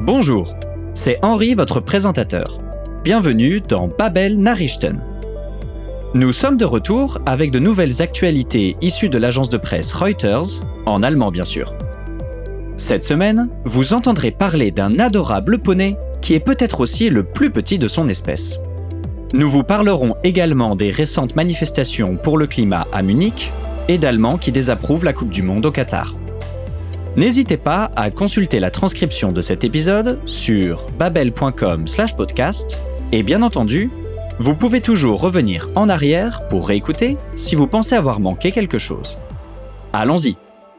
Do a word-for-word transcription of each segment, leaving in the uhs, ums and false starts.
Bonjour, c'est Henri, votre présentateur. Bienvenue dans Babel Nachrichten. Nous sommes de retour avec de nouvelles actualités issues de l'agence de presse Reuters, en allemand bien sûr. Cette semaine, vous entendrez parler d'un adorable poney qui est peut-être aussi le plus petit de son espèce. Nous vous parlerons également des récentes manifestations pour le climat à Munich et d'Allemands qui désapprouvent la Coupe du Monde au Qatar. N'hésitez pas à consulter la transcription de cet épisode sur babel point com slash podcast et bien entendu, vous pouvez toujours revenir en arrière pour réécouter si vous pensez avoir manqué quelque chose. Allons-y.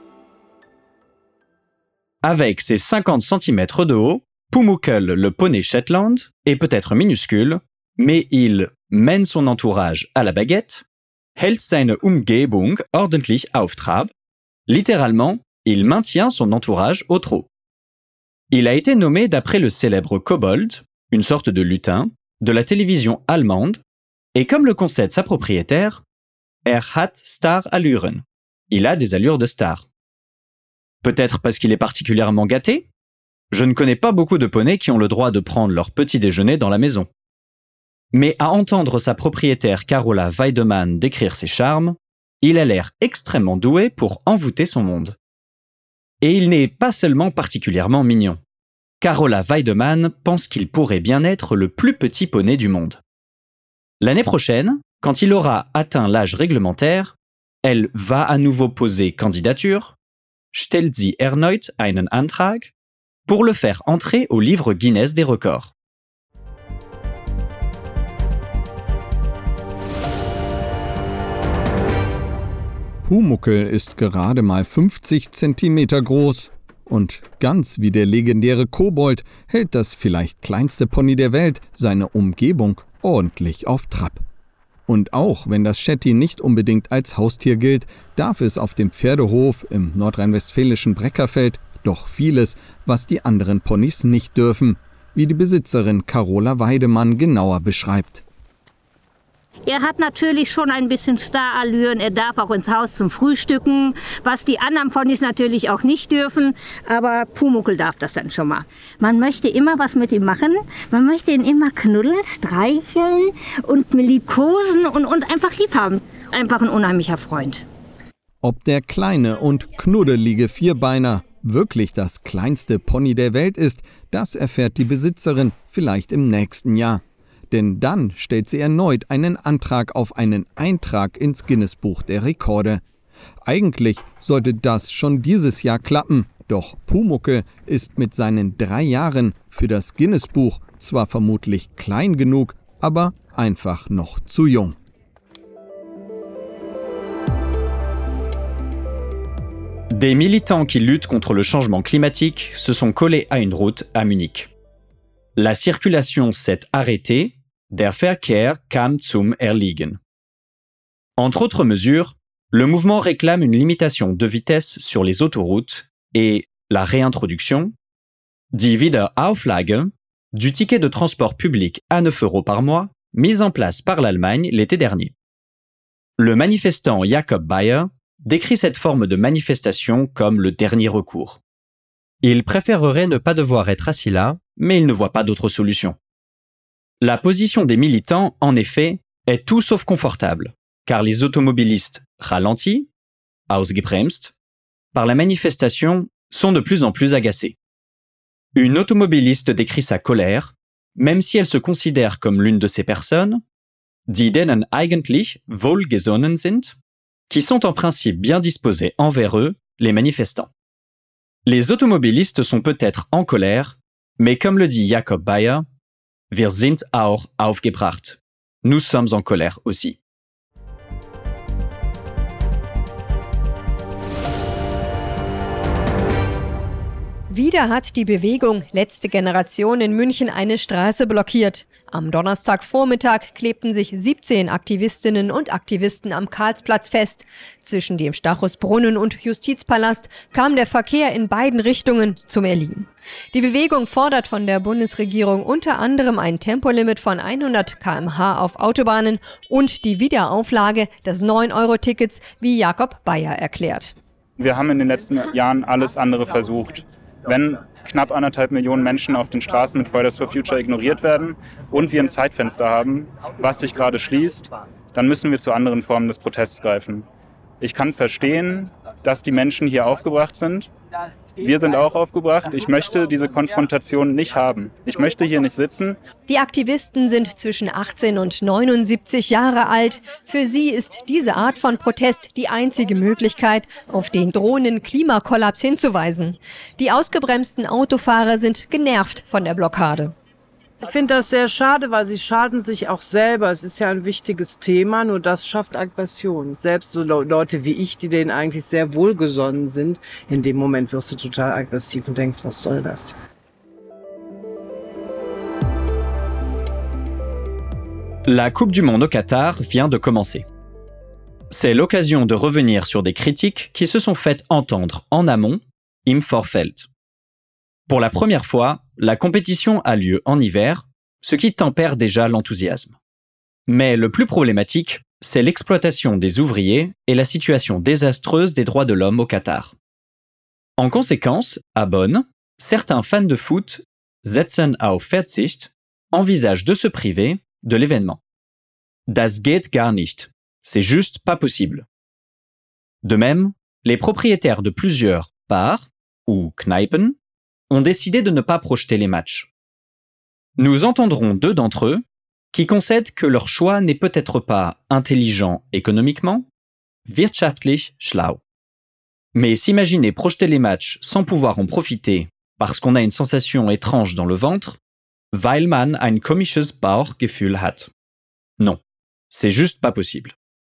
Avec ses cinquante centimètres de haut, Pumuckl le poney Shetland est peut-être minuscule, mais il mène son entourage à la baguette, hält seine Umgebung ordentlich auf Trab, littéralement, il maintient son entourage au trot. Il a été nommé d'après le célèbre kobold, une sorte de lutin, de la télévision allemande, et comme le concède sa propriétaire, er hat Star-Allüren. Il a des allures de star. Peut-être parce qu'il est particulièrement gâté? Je ne connais pas beaucoup de poneys qui ont le droit de prendre leur petit déjeuner dans la maison. Mais à entendre sa propriétaire Carola Weidemann décrire ses charmes, il a l'air extrêmement doué pour envoûter son monde. Et il n'est pas seulement particulièrement mignon. Carola Weidemann pense qu'il pourrait bien être le plus petit poney du monde. L'année prochaine, quand il aura atteint l'âge réglementaire, elle va à nouveau poser candidature, stellt sie erneut einen Antrag, pour le faire entrer au livre Guinness des records. Pumuckl ist gerade mal fünfzig Zentimeter groß und ganz wie der legendäre Kobold hält das vielleicht kleinste Pony der Welt seine Umgebung ordentlich auf Trab. Und auch wenn das Shetty nicht unbedingt als Haustier gilt, darf es auf dem Pferdehof im nordrhein-westfälischen Breckerfeld doch vieles, was die anderen Ponys nicht dürfen, wie die Besitzerin Carola Weidemann genauer beschreibt. Er hat natürlich schon ein bisschen Starallüren, er darf auch ins Haus zum Frühstücken, was die anderen Ponys natürlich auch nicht dürfen, aber Pumuckl darf das dann schon mal. Man möchte immer was mit ihm machen, man möchte ihn immer knuddeln, streicheln und liebkosen und, und einfach lieb haben. Einfach ein unheimlicher Freund. Ob der kleine und knuddelige Vierbeiner wirklich das kleinste Pony der Welt ist, das erfährt die Besitzerin vielleicht im nächsten Jahr. Denn dann stellt sie erneut einen Antrag auf einen Eintrag ins Guinness-Buch der Rekorde. Eigentlich sollte das schon dieses Jahr klappen, doch Pumuckl ist mit seinen drei Jahren für das Guinness-Buch zwar vermutlich klein genug, aber einfach noch zu jung. Des militants qui luttent contre le changement climatique se sont collés à une route à Munich. La circulation s'est arrêtée. Der Verkehr kam zum Erliegen. Entre autres mesures, le mouvement réclame une limitation de vitesse sur les autoroutes et la réintroduction, die Wiederauflage, du ticket de transport public à neuf euros par mois, mis en place par l'Allemagne l'été dernier. Le manifestant Jakob Bayer décrit cette forme de manifestation comme le dernier recours. Il préférerait ne pas devoir être assis là, mais il ne voit pas d'autre solution. La position des militants, en effet, est tout sauf confortable, car les automobilistes ralentis, ausgebremst, par la manifestation, sont de plus en plus agacés. Une automobiliste décrit sa colère, même si elle se considère comme l'une de ces personnes, die denen eigentlich wohlgesonnen sind, qui sont en principe bien disposés envers eux, les manifestants. Les automobilistes sont peut-être en colère, mais comme le dit Jakob Bayer, wir sind auch aufgebracht. Nous sommes en colère aussi. Wieder hat die Bewegung Letzte Generation in München eine Straße blockiert. Am Donnerstagvormittag klebten sich siebzehn Aktivistinnen und Aktivisten am Karlsplatz fest. Zwischen dem Stachusbrunnen und Justizpalast kam der Verkehr in beiden Richtungen zum Erliegen. Die Bewegung fordert von der Bundesregierung unter anderem ein Tempolimit von hundert Kilometer pro Stunde auf Autobahnen und die Wiederauflage des neun Euro Tickets, wie Jakob Bayer erklärt. Wir haben in den letzten Jahren alles andere versucht. Wenn knapp anderthalb Millionen Menschen auf den Straßen mit Fridays for Future ignoriert werden und wir ein Zeitfenster haben, was sich gerade schließt, dann müssen wir zu anderen Formen des Protests greifen. Ich kann verstehen, dass die Menschen hier aufgebracht sind. Wir sind auch aufgebracht. Ich möchte diese Konfrontation nicht haben. Ich möchte hier nicht sitzen. Die Aktivisten sind zwischen achtzehn und neunundsiebzig Jahre alt. Für sie ist diese Art von Protest die einzige Möglichkeit, auf den drohenden Klimakollaps hinzuweisen. Die ausgebremsten Autofahrer sind genervt von der Blockade. Ich finde das sehr schade, weil sie schaden sich auch selber. Es ist ja ein wichtiges Thema, nur das schafft Aggression. Selbst so Leute wie ich, die denen eigentlich sehr wohlgesonnen sind, in dem Moment wirst du total aggressiv und denkst, was soll das? La Coupe du Monde au Qatar vient de commencer. C'est l'occasion de revenir sur des critiques qui se sont faites entendre en amont, im Vorfeld. Pour la première fois, la compétition a lieu en hiver, ce qui tempère déjà l'enthousiasme. Mais le plus problématique, c'est l'exploitation des ouvriers et la situation désastreuse des droits de l'homme au Qatar. En conséquence, à Bonn, certains fans de foot, setzen auf Verzicht, envisagent de se priver de l'événement. Das geht gar nicht. C'est juste pas possible. De même, les propriétaires de plusieurs bars ou Kneipen ont décidé de ne pas projeter les matchs. Nous entendrons deux d'entre eux qui concèdent que leur choix n'est peut-être pas intelligent économiquement, wirtschaftlich schlau. Mais s'imaginer projeter les matchs sans pouvoir en profiter parce qu'on a une sensation étrange dans le ventre, weil man ein komisches Bauchgefühl hat. Non, c'est juste pas possible.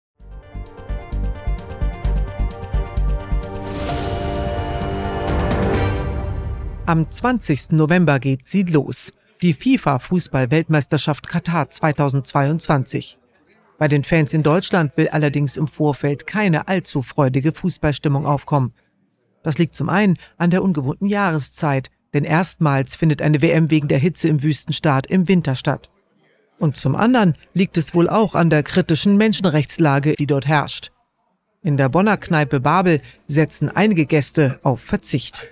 Am zwanzigsten November geht sie los. Die FIFA-Fußball-Weltmeisterschaft Katar zweitausendzweiundzwanzig. Bei den Fans in Deutschland will allerdings im Vorfeld keine allzu freudige Fußballstimmung aufkommen. Das liegt zum einen an der ungewohnten Jahreszeit, denn erstmals findet eine W M wegen der Hitze im Wüstenstaat im Winter statt. Und zum anderen liegt es wohl auch an der kritischen Menschenrechtslage, die dort herrscht. In der Bonner Kneipe Babel setzen einige Gäste auf Verzicht.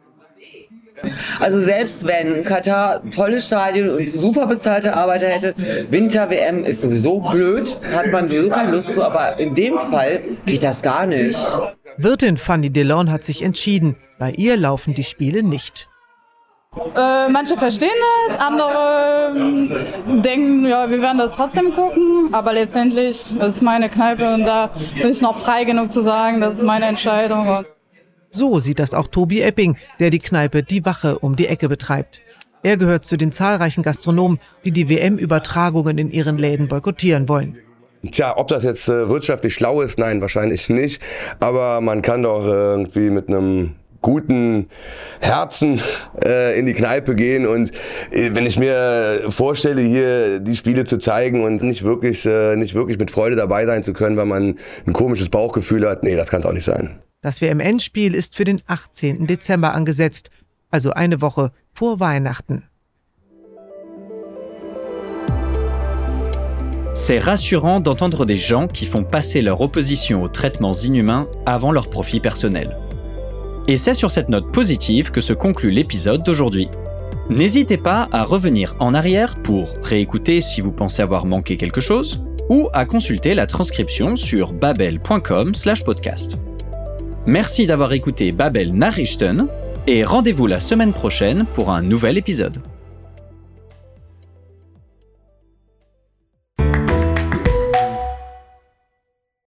Also selbst wenn Katar tolles Stadion und super bezahlte Arbeiter hätte, Winter-W M ist sowieso blöd, hat man sowieso keine Lust zu, aber in dem Fall geht das gar nicht. Wirtin Fanny Delon hat sich entschieden, bei ihr laufen die Spiele nicht. Äh, manche verstehen das, andere äh, denken, ja, wir werden das trotzdem gucken, aber letztendlich ist es meine Kneipe und da bin ich noch frei genug zu sagen, das ist meine Entscheidung. So sieht das auch Tobi Epping, der die Kneipe Die Wache um die Ecke betreibt. Er gehört zu den zahlreichen Gastronomen, die die W M-Übertragungen in ihren Läden boykottieren wollen. Tja, ob das jetzt äh, wirtschaftlich schlau ist, nein, wahrscheinlich nicht. Aber man kann doch äh, irgendwie mit einem guten Herzen äh, in die Kneipe gehen und äh, wenn ich mir vorstelle, hier die Spiele zu zeigen und nicht wirklich, äh, nicht wirklich mit Freude dabei sein zu können, weil man ein komisches Bauchgefühl hat, nee, das kann es auch nicht sein. Das W M-Endspiel ist für den achtzehnten Dezember angesetzt, also eine Woche vor Weihnachten. C'est rassurant d'entendre des gens qui font passer leur opposition aux traitements inhumains avant leur profit personnel. Et c'est sur cette note positive que se conclut l'épisode d'aujourd'hui. N'hésitez pas à revenir en arrière pour réécouter si vous pensez avoir manqué quelque chose, ou à consulter la transcription sur babel point com slash podcast. Merci d'avoir écouté Babel Nachrichten et rendez-vous la semaine prochaine pour un nouvel épisode.